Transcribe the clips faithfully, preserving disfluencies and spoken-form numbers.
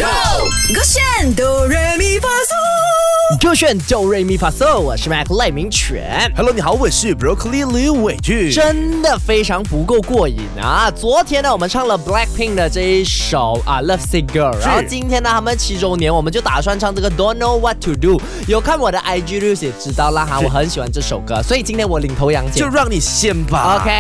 Go， 勾选哆来咪发嗦， 就选哆瑞咪发嗦。我是 Mac 赖明全。 Hello， 你好，我是 Broccoli 李伟俊。 真的非常不够过瘾啊！昨天呢，我们唱了 Blackpink 的这一首啊 Love Sick Girl， 然后今天呢，他们七周年，我们就打算唱这个 Don't Know What to Do。有看我的 I G reels 也知道啦哈，我很喜欢这首歌，所以今天我领头羊姐， 就让你先吧。 OK 。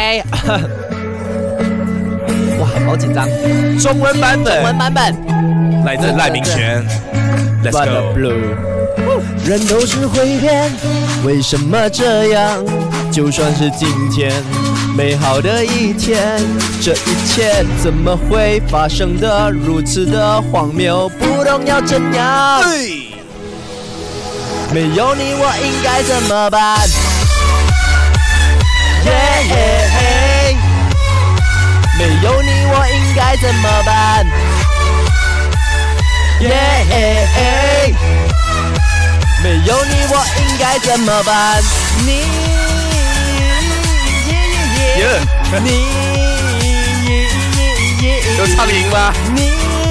哇，好紧张！ 中文版本， 中文版本来自赖明权。Let's go。 人都是会变，为什么这样？就算是今天美好的一天，这一切怎么会发生的如此的荒谬？不懂要怎样？没有你我应该怎么办？耶耶嘿！没有你我应该怎么办？耶耶嘿！没有你我应该怎么办？你你有唱赢吗？ 你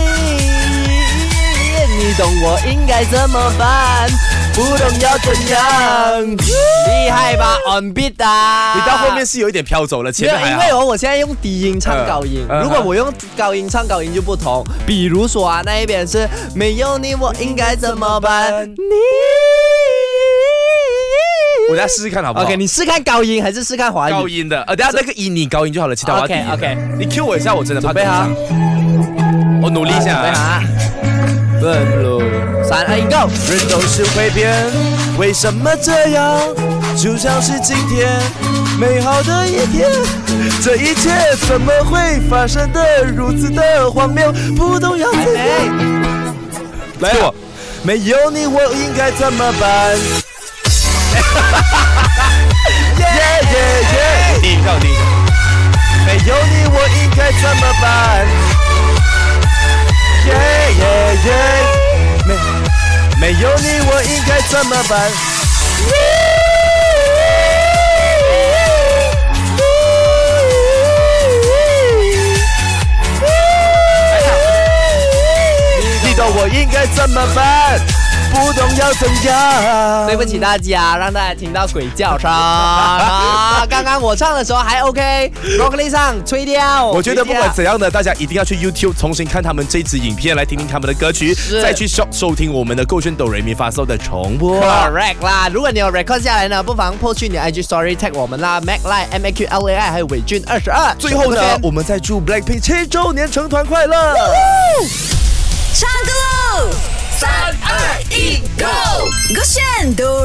你懂我应该怎么办？不懂要怎样？厉害吧 ，on beat 啊！ 你到后面是有一点飘走了，前面还好。 因为我我现在用低音唱高音， 嗯、 如果我用高音唱高音就不同。比如说啊，那一边是没有你我应该怎么办？你。 我再试试看好不好 ？OK， 你试看高音还是试看华语？ 高音的，呃，等下那个以你高音就好了，其他我要低音。OK OK， 你 Q 我一下，我真的怕跟不上。我努力一下啊。 三二一 ，Go！ 人都是会变，为什么这样？就像是今天美好的一天，这一切怎么会发生的如此的荒谬？不懂要怎样？来我，没有你我应该怎么办？耶耶耶！第一个，第一个。没有你我应该怎么办？耶耶耶！没没有你我应该怎么办？你懂我应该怎么办？不懂要怎样？ 对不起大家，让大家听到鬼叫声啊！刚刚我唱的时候还 OK，Broccoli 上吹掉。 我觉得不管怎样的，大家一定要去 YouTube 重新看他们这支影片，来听听他们的歌曲，再去收收听我们的勾选哆来咪发嗦的重播。 Correct 啦！如果你有 record 下来呢，不妨 po 去你 I G Story tag 我们啦 ，Mac Lai M A Q L A I 还有伟俊二十二。 最后呢，我们再祝 Blackpink 七周年成团快乐！ 唱歌喽！三二一 ，Go！ 勾选哆